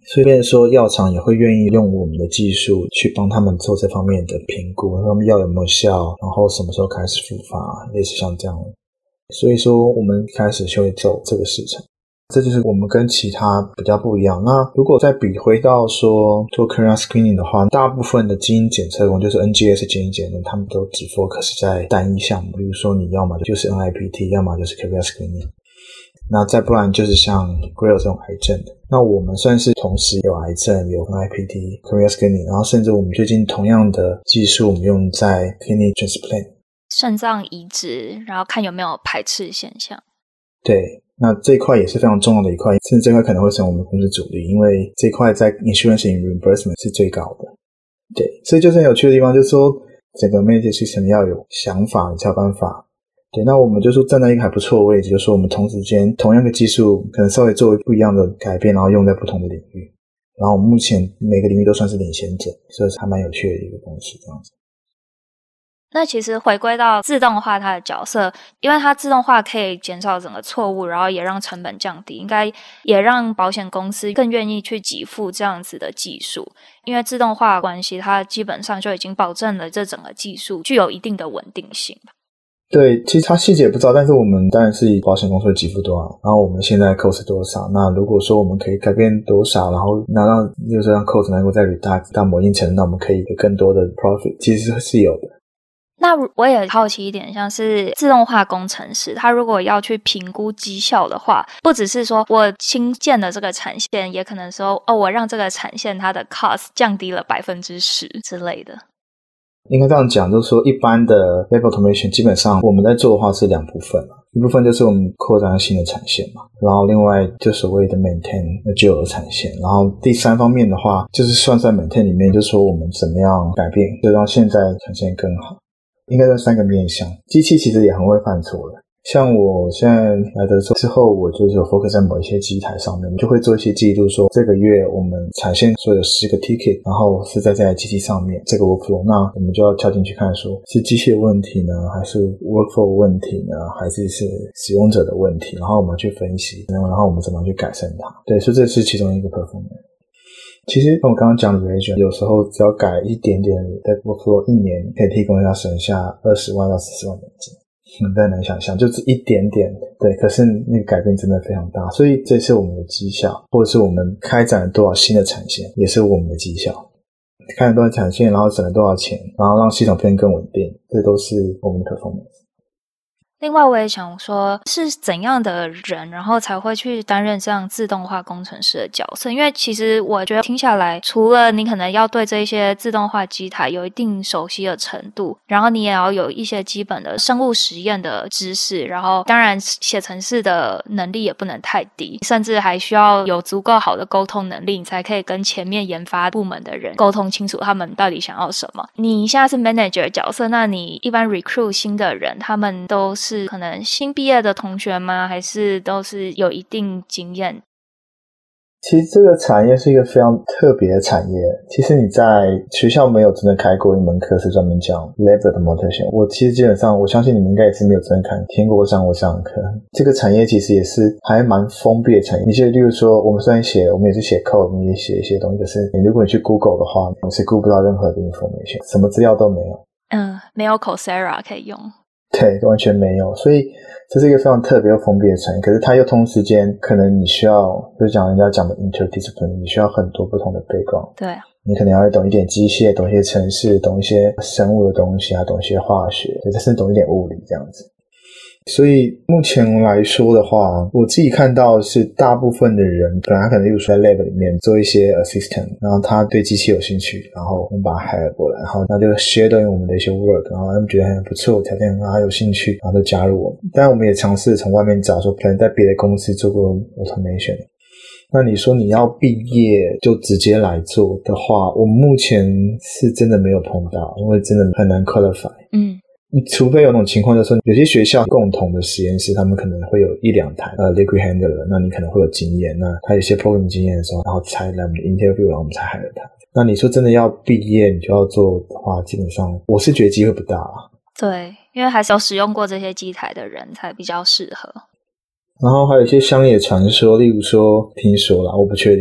所以变成说药厂也会愿意用我们的技术去帮他们做这方面的评估，他们药有没有效，然后什么时候开始复发，类似像这样。所以说我们开始就会走这个市场，这就是我们跟其他比较不一样。那如果再比回到说做 carrier screening 的话，大部分的基因检测工就是 N G S 基因检测，他们都只 focus 在单一项目，比如说你要么就是 N I P T， 要么就是 carrier screening， 那再不然就是像 Grail 这种癌症的。那我们算是同时有癌症，有 N I P T carrier screening， 然后甚至我们最近同样的技术我们用在 kidney transplant， 肾脏移植，然后看有没有排斥现象。 对，那这一块也是非常重要的一块，甚至这块可能会成为我们公司主力，因为这一块在 insurance and reimbursement 是最高的。对，所以就是很有趣的地方，就是说整个 management system 要有想法，你才有办法。对，那我们就说站在一个还不错的位置，就是说我们同时间同样的技术可能稍微做不一样的改变，然后用在不同的领域，然后我们目前每个领域都算是领先者，所以还蛮有趣的一个公司这样子。 那其实回归到自动化它的角色，因为它自动化可以减少整个错误，然后也让成本降低，应该也让保险公司更愿意去给付这样子的技术。因为自动化的关系，它基本上就已经保证了这整个技术具有一定的稳定性。 对，其实它细节不知道，但是我们当然是以保险公司的给付多少，然后我们现在 cost 多少，那如果说我们可以改变多少，然后那让就是让 cost 能够再 reduce 到某一定程度，那我们可以有更多的 profit， 其实是有的。 那我也好奇一点，像是自动化工程师，他如果要去评估绩效的话，不只是说我新建的这个产线，也可能说哦，我让这个产线它的 cost 降低了百分之十之类的。 应该这样讲，就是说一般的 lab automation 基本上我们在做的话是两部分，一部分就是我们扩展新的产线嘛，然后另外就所谓的 maintain 旧有的产线，然后第三方面的话就是算在 maintain 里面，就是说我们怎么样改变，就让现在产线更好。应该在三个面向，机器其实也很会犯错的。像我现在来的之后，我就是有 focus 在某一些机台上面，就会做一些记录，说这个月我们产线说有十个 ticket， 然后是在这台机器上面这个 workflow， 那我们就要跳进去看说是机器的问题呢，还是 workflow 问题呢，还是是使用者的问题，然后我们去分析，然后我们怎么去改善它。对，所以这是其中一个 performance。其实我刚刚讲的 reagent 有时候只要改一点点的 workflow， 一年可以提供一下省下二十万到四十万美金，很难想象，就是一点点。对，可是那个改变真的非常大，所以这是我们的绩效，或者是我们开展了多少新的产线，也是我们的绩效。开了多少产线，然后省了多少钱，然后让系统变更稳定，这都是我们的 performance。 另外我也想说，是怎样的人然后才会去担任这样自动化工程师的角色？因为其实我觉得听下来，除了你可能要对这些自动化机台有一定熟悉的程度，然后你也要有一些基本的生物实验的知识，然后当然写程式的能力也不能太低，甚至还需要有足够好的沟通能力，你才可以跟前面研发部门的人沟通清楚他们到底想要什么。你现在是 manager 角色，那你一般 recruit 新的人，他们都是是可能新毕业的同学吗？还是都是有一定经验？ 其实这个产业是一个非常特别的产业。其实你在学校没有真的开过一门课是专门讲 lab automation。我其实基本上，我相信你们应该也是没有真的看听过上过这样的课。这个产业其实也是还蛮封闭的产业。你就例如说，我们虽然写，我们也是写 code， 我们也写一些东西，可是你如果你去 Google 的话，你是 Google 不到任何的 information， 什么资料都没有。 嗯，没有 Coursera 可以用。 对，完全没有，所以这是一个非常特别又封闭的产业。可是它又同时间，可能你需要，就是讲人家讲的 interdiscipline， 你需要很多不同的 background。 对， 你可能要懂一点机械，懂一些程式，懂一些生物的东西啊，懂一些化学，甚至懂一点物理这样子。所以目前来说的话，我自己看到是大部分的人本来可能例如说在 lab 里面做一些 assistant， 然后他对机器有兴趣，然后我们把他 hire 过来，然后他就 share 到我们的一些 work， 然后他们觉得很不错，条件很好，他有兴趣，然后就加入我们。当然我们也尝试从外面找说可能在别的公司做过 automation。那你说你要毕业就直接来做的话，我们目前是真的没有碰到，因为真的很难 qualify。嗯。除非有种情况，就是说有些学校共同的实验室，他们可能会有一两台呃 liquid handler， 那你可能会有经验，那他有些 program 经验的时候，然后才来我们的 interview， 然后我们才 hire 他。那你说真的要毕业你就要做的话，基本上我是觉得机会不大啦。 对，因为还是有使用过这些机台的人才比较适合。 然后还有一些乡野传说，例如说听说啦，我不确定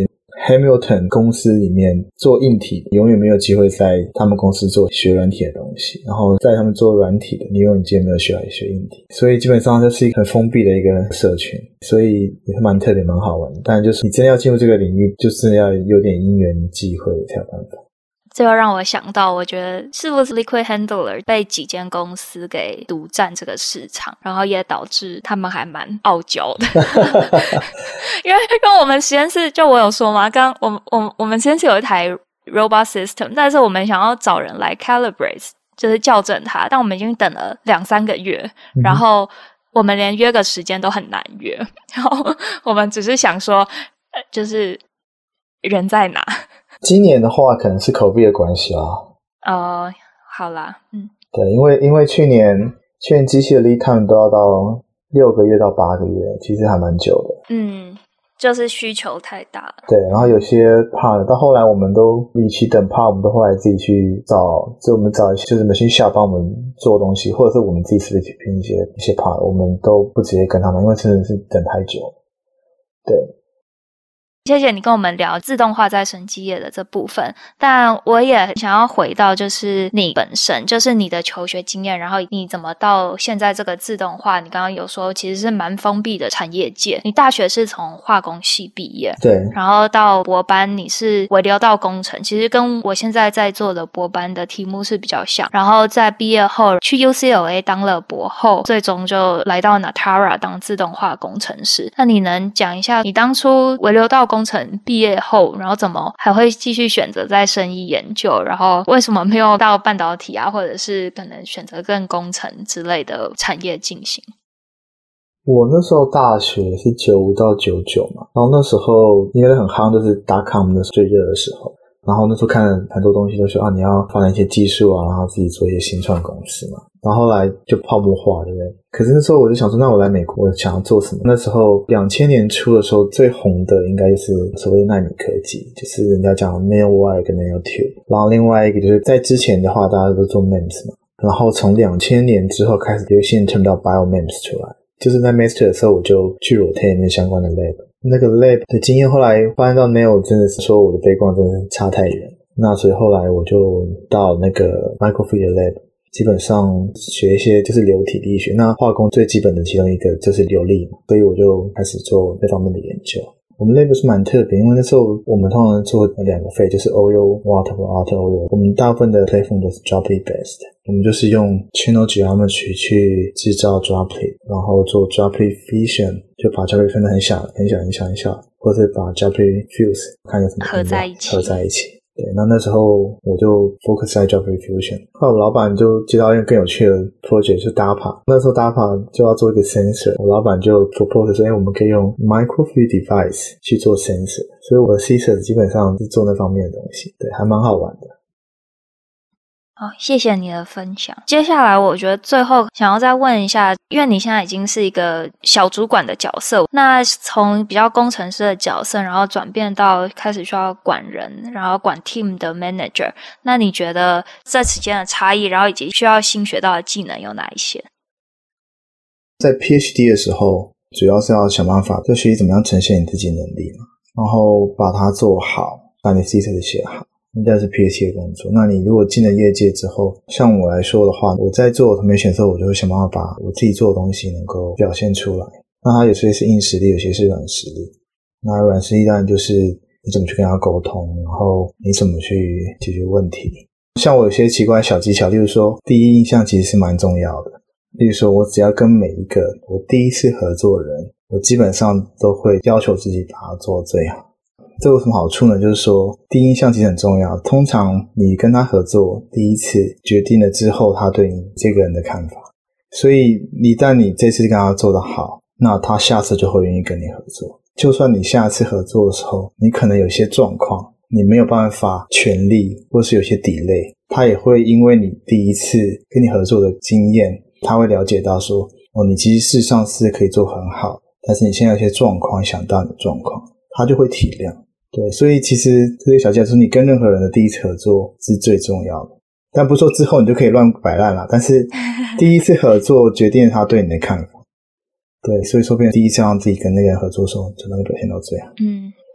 Hamilton 公司里面做硬体永远没有机会在他们公司做学软体的东西，然后在他们做软体的你永远没有学来学硬体，所以基本上就是一个很封闭的一个社群，所以也是蛮特别蛮好玩的。当然就是你真的要进入这个领域，就是要有点因缘际会才有办法。 这又让我想到，我觉得是不是 Liquid Handler 被几间公司给独占这个市场，然后也导致他们还蛮傲娇的。因为跟我们实验室，就我有说嘛，刚我们我我们实验室有一台 robot system， 但是我们想要找人来 calibrate， 就是校正它，但我们已经等了两三个月，嗯、然后我们连约个时间都很难约，然后我们只是想说，呃、就是人在哪？ 今年的话可能是 COVID 的关系啦。 哦、呃，好啦，嗯， 对，因为因为去年去年机器的 lead time 都要到六个月到八个月，其实还蛮久的。 嗯，就是需求太大了。 对，然后有些 part 到后来我们都与其等 part， 我们都后来自己去找，就我们找一些就是 machine shop 帮我们做东西，或者是我们自己 split 拼一些一些 part， 我们都不直接跟他们，因为真的是等太久。对。 谢谢你跟我们聊自动化在生技业的这部分，但我也想要回到就是你本身，就是你的求学经验，然后你怎么到现在这个自动化，你刚刚有说其实是蛮封闭的产业界。你大学是从化工系毕业， 对， 然后到博班你是微流道工程，其实跟我现在在做的博班的题目是比较像，然后在毕业后去 U C L A 当了博后，最终就来到 Natara 当自动化工程师。那你能讲一下你当初微流道工程毕业后，然后怎么还会继续选择在生医研究，然后为什么没有到半导体啊，或者是可能选择更工程之类的产业进行？ 我那时候大学是九五到九九嘛，然后那时候因为很夯，就是 dot-com 的最热的时候，然后那时候看了很多东西都说啊，你要发展一些技术啊，然后自己做一些新创公司嘛，然后后来就泡沫化，对不对？可是那时候我就想说，那我来美国，我想要做什么？那时候两千年初的时候，最红的应该就是所谓的奈米科技，就是人家讲 nanowire 跟 nanotube， 然后另外一个就是在之前的话，大家都是做 M E M S 嘛，然后从两千年之后开始有些人听到 bio M E M S 出来，就是在 master 的时候我就去 rotate 那相关的 lab， 那个 lab 的经验后来发现到 nano 真的是说我的背光真的是差太远，那所以后来我就到那个 microfluidic lab，基本上学一些就是流体力学，那化工最基本的其中一个就是流力嘛，所以我就开始做那方面的研究。我们 lab 是蛮特别，因为那时候我们通常做两个 phase， 就是 oil water 和 water oil， 我们大部分的 platform 都是 droplet based， 我们就是用 channel geometry 去制造 droplet， 然后做 droplet fusion， 就把 droplet 分得很小很小很小很小，或者是把 droplet fuse 看有什么合在一起合在一起。对，那那时候我就 focus 在 droplet fusion， 后来我老板就接到一个更有趣的 project， 就是 D A P A， 那时候 D A P A 就要做一个 sensor， 我老板就 propose 说，哎，我们可以用 microfluidic device 去做 sensor， 所以我的 thesis 基本上是做那方面的东西，对，还蛮好玩的。 好，谢谢你的分享。接下来我觉得最后想要再问一下，因为你现在已经是一个小主管的角色，那从比较工程师的角色，然后转变到开始需要管人，然后管 team 的 manager， 那你觉得这之间的差异，然后以及需要新学到的技能有哪一些？ 在 PhD 的时候，主要是要想办法就学习怎么样呈现你自己的能力嘛，然后把它做好，把你 thesis 写好，应该是 PhD 的工作。那你如果进了业界之后，像我来说的话，我在做 automation 的时候，我就会想办法把我自己做的东西能够表现出来。那它有些是硬实力，有些是软实力。那软实力当然就是你怎么去跟他沟通，然后你怎么去解决问题。像我有些奇怪的小技巧，例如说第一印象其实是蛮重要的。例如说我只要跟每一个我第一次合作的人，我基本上都会要求自己把它做最好。这有什么好处呢？就是说第一印象其实很重要，通常你跟他合作第一次决定了之后他对你这个人的看法，所以一旦你这次跟他做得好，那他下次就会愿意跟你合作。就算你下次合作的时候你可能有些状况你没有办法全力，或是有些 delay， 他也会因为你第一次跟你合作的经验，他会了解到说哦，你其实事实上是可以做很好，但是你现在有些状况想到你的状况，他就会体谅。对，所以其实这些小技巧是你跟任何人的第一次合作是最重要的，但不是说之后你就可以乱摆烂啦，但是第一次合作决定了他对你的看法。对，所以说变成第一次让自己跟那个人合作的时候就能够表现到最好。 嗯，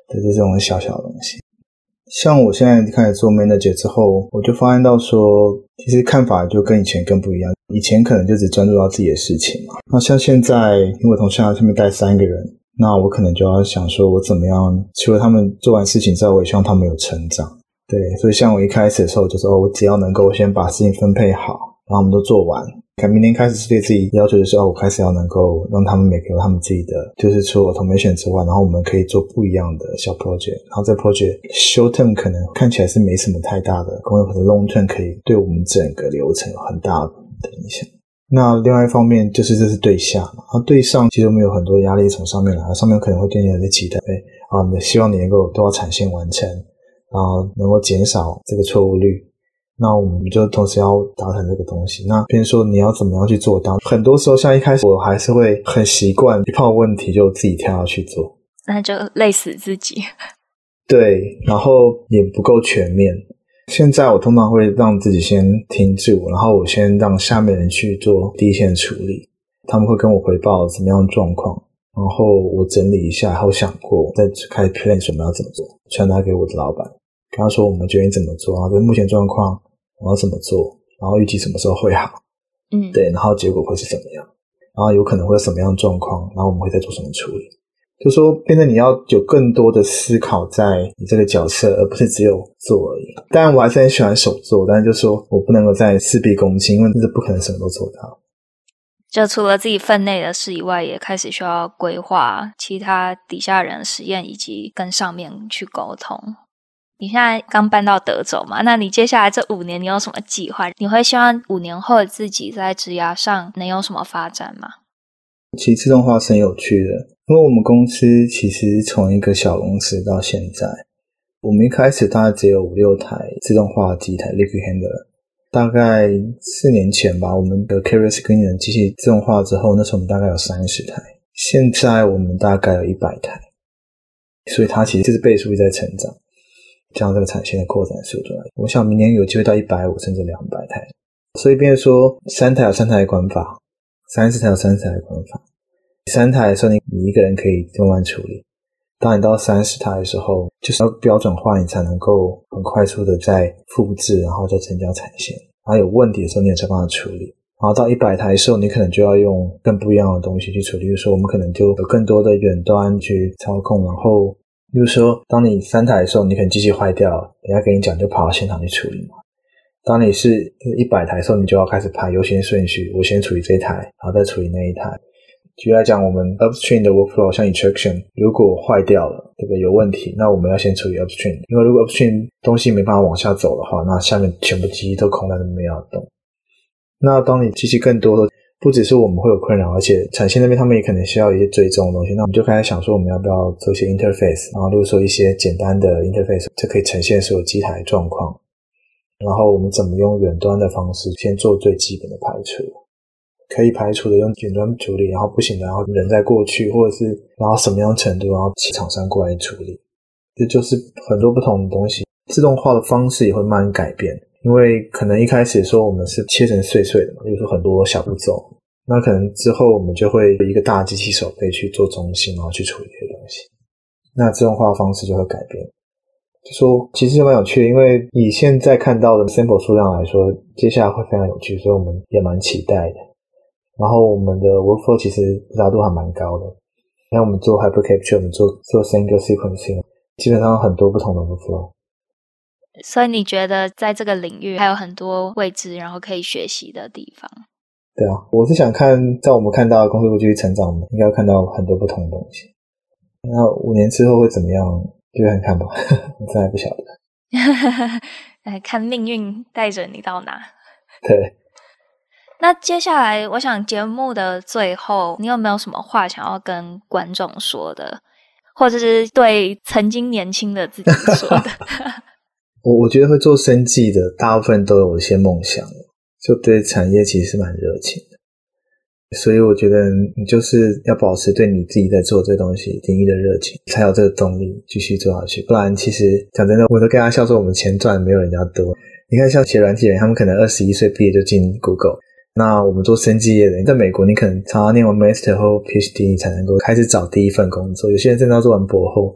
对，这种小小的东西。像我现在开始做 manager 之后，我就发现到说，其实看法就跟以前更不一样。以前可能就只专注到自己的事情嘛，那像现在，因为我同事上面带三个人，那我可能就要想说，我怎么样，除了他们做完事情之后，我也希望他们有成长。对，所以像我一开始的时候，就是哦，我只要能够先把事情分配好，然后我们都做完。看明年开始是对自己要求的时候，我开始要能够让他们每个有他们自己的，就是除了 automation 之外，然后我们可以做不一样的小 project， 然后这 project short term 可能看起来是没什么太大的功用，可是 long term 可以对我们整个流程有很大的影响。那另外一方面就是这是对下嘛，然后对上其实我们有很多压力从上面来，上面可能会对你有些期待，啊，希望你能够都要产线完成，然后能够减少这个错误率。那我们就同时要达成这个东西，那比如说你要怎么样去做到，很多时候像一开始我还是会很习惯一碰问题就自己跳下去做， 那就累死自己。 对，然后也不够全面。现在我通常会让自己先停住，然后我先让下面人去做第一线处理，他们会跟我回报怎么样的状况，然后我整理一下，然后想过再开始 plan 什么要怎么做，传达给我的老板，跟他说我们决定怎么做，然后跟目前状况我要怎么做，然后预计什么时候会好， 嗯， 对，然后结果会是怎么样，然后有可能会有什么样的状况，然后我们会再做什么处理。就说变成你要有更多的思考在你这个角色，而不是只有做而已。当然我还是很喜欢手做，但是就说我不能够再事必躬亲，因为这是不可能什么都做到。 就除了自己分内的事以外，也开始需要规划其他底下人的实验，以及跟上面去沟通。你现在刚搬到德州嘛，那你接下来这五年你有什么计划？你会希望五年后自己在职涯上能有什么发展吗？ 其实自动化是很有趣的，因为我们公司其实从一个小公司到现在，我们一开始大概只有五六台自动化机台 Liquid Handler， 大概四年前吧，我们的 Carrier Screening 的机器自动化之后，那时候我们大概有三十台，现在我们大概有一百台，所以它其实就是倍数一直在成长，像这个产线的扩展速度，我想明年有机会到一百五十甚至两百台，所以变成说三台有三台的管法，三十台有三十台的管法，三台的时候你你一个人可以慢慢处理，当你到三十台的时候就是要标准化，你才能够很快速的再复制，然后再增加产线，然后有问题的时候你也才帮它处理，然后到一百台的时候你可能就要用更不一样的东西去处理，比如说我们可能就有更多的远端去操控，然后比如说当你三台的时候你可能机器坏掉了，人家跟你讲就跑到现场去处理嘛，当你是一百台的时候你就要开始排优先顺序，我先处理这一台然后再处理那一台。举例来讲，我们 upstream 的 workflow 像 extraction 如果坏掉了，这个有问题，那我们要先处理 upstream， 因为如果 upstream 东西没办法往下走的话，那下面全部机器都空在那边没有动。那当你机器更多的，不只是我们会有困扰，而且产线那边他们也可能需要一些追踪的东西，那我们就开始想说我们要不要做一些 interface， 然后例如说一些简单的 interface， 这可以呈现所有机台的状况，然后我们怎么用远端的方式先做最基本的排除，可以排除的用远端处理，然后不行的然后人再过去，或者是然后什么样程度然后请厂商过来处理，这就是很多不同的东西。自动化的方式也会慢慢改变，因为可能一开始说我们是切成碎碎的嘛，比如说很多小步骤，那可能之后我们就会一个大机器手可以去做中心，然后去处理这些东西，那自动化的方式就会改变。就说其实蛮有趣的，因为以现在看到的 sample 数量来说，接下来会非常有趣，所以我们也蛮期待的。然后我们的 workflow 其实复杂度还蛮高的，像我们做 hyper capture， 我们做做 single sequencing， 基本上很多不同的 workflow。 所以你觉得在这个领域还有很多未知然后可以学习的地方？ 对啊，我是想看在我们看到的公司会继续成长，我们应该要看到很多不同的东西。那五年之后会怎么样就看看吧，我真的还不晓得。 来看命运带着你到哪。 对。 那接下来我想节目的最后你有没有什么话想要跟观众说的，或者是对曾经年轻的自己说的？ 我我觉得会做生技的大部分都有一些梦想，就对产业其实是蛮热情的，所以我觉得你就是要保持对你自己在做这东西领域的热情，才有这个动力继续做下去。不然其实讲真的，我都跟他笑说我们钱赚没有人家多。你看像写软体人，他们可能二十一岁毕业就进 Google， 那我们做生技业的，在美国你可能常常念完 Master 或 P H D 你才能够开始找第一份工作，有些人真的要做完博后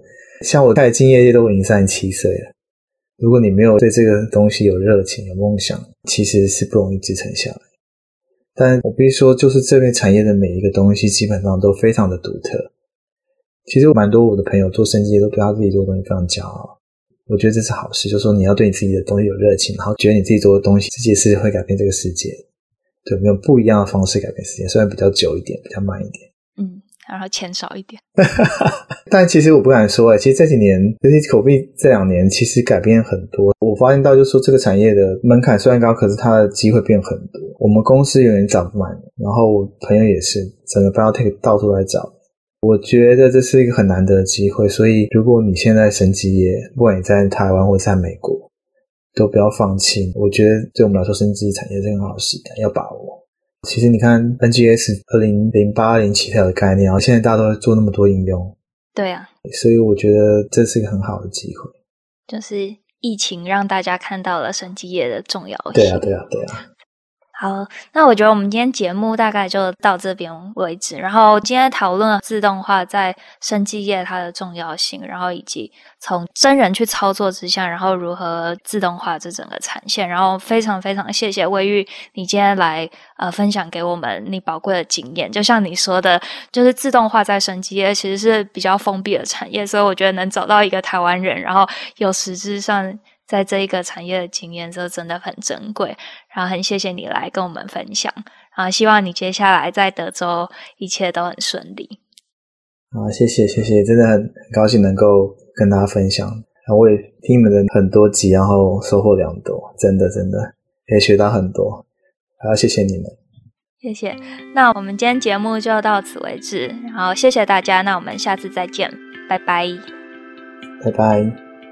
像我在金业界都已经三十七岁了，如果你没有对这个东西有热情有梦想，其实是不容易支撑下来。但我必须说，就是这边产业的每一个东西基本上都非常的独特。其实蛮多我的朋友做生技业都对他自己做的东西非常骄傲，我觉得这是好事，就是说你要对你自己的东西有热情，然后觉得你自己做的东西这件事会改变这个世界，对，没有不一样的方式改变世界，虽然比较久一点比较慢一点， 嗯，然后钱少一点但其实我不敢说诶、欸、其实这几年尤其口碑这两年其实改变很多，我发现到就是说这个产业的门槛虽然高，可是它的机会变很多。我们公司有点找不满，然后我朋友也是，整个 biotech 到处在找，我觉得这是一个很难得的机会。所以如果你现在生技业，不管你在台湾或者在美国，都不要放弃，我觉得对我们来说生技产业是很好的时代，要把握。其实你看 N G S 二零零八年起跳的概念，然后现在大家都在做那么多应用， 对啊， 所以我觉得这是一个很好的机会， 就是疫情让大家看到了生技业的重要性。 对啊对啊对啊。 好，那我觉得我们今天节目大概就到这边为止。然后今天讨论了自动化在生技业它的重要性，然后以及从真人去操作之下，然后如何自动化这整个产线。然后非常非常谢谢魏玉，你今天来呃分享给我们你宝贵的经验。就像你说的，就是自动化在生技业其实是比较封闭的产业，所以我觉得能找到一个台湾人，然后有实质上在这一个产业的经验，这真的很珍贵。然后很谢谢你来跟我们分享，然后希望你接下来在德州一切都很顺利。 好，谢谢谢谢，真的很很高兴能够跟大家分享。然后我也听你们的很多集，然后收获良多，真的真的也学到很多。好，谢谢你们。 谢谢。那我们今天节目就到此为止，然后谢谢大家，那我们下次再见，拜拜。 拜拜。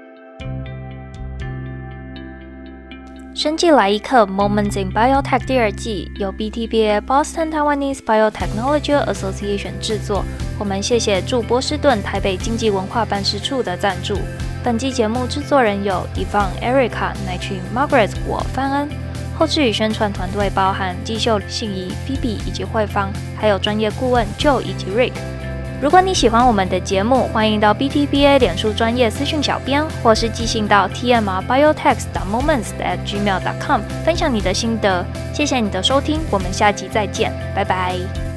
生技来一课 Moments in Biotech 第二季由 B T B A Boston Taiwanese Biotechnology Association 制作。我们谢谢驻波士顿台北经济文化办事处的赞助。本季节目制作人有 Yvonne、Erica、Nightry、Margaret 我范恩。后制与宣传团队包含季秀、信怡、Phoebe 以及慧芳，还有专业顾问 Joe 以及 Rick。如果你喜欢我们的节目，欢迎到 B T B A 脸书专页私讯小编，或是寄信到 t m r biotech dot moments at gmail dot com 分享你的心得。谢谢你的收听，我们下集再见，拜拜。